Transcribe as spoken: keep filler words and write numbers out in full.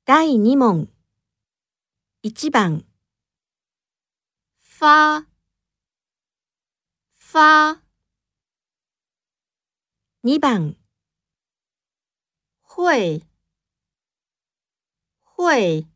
だいに問。いち番。 发发に番。 会会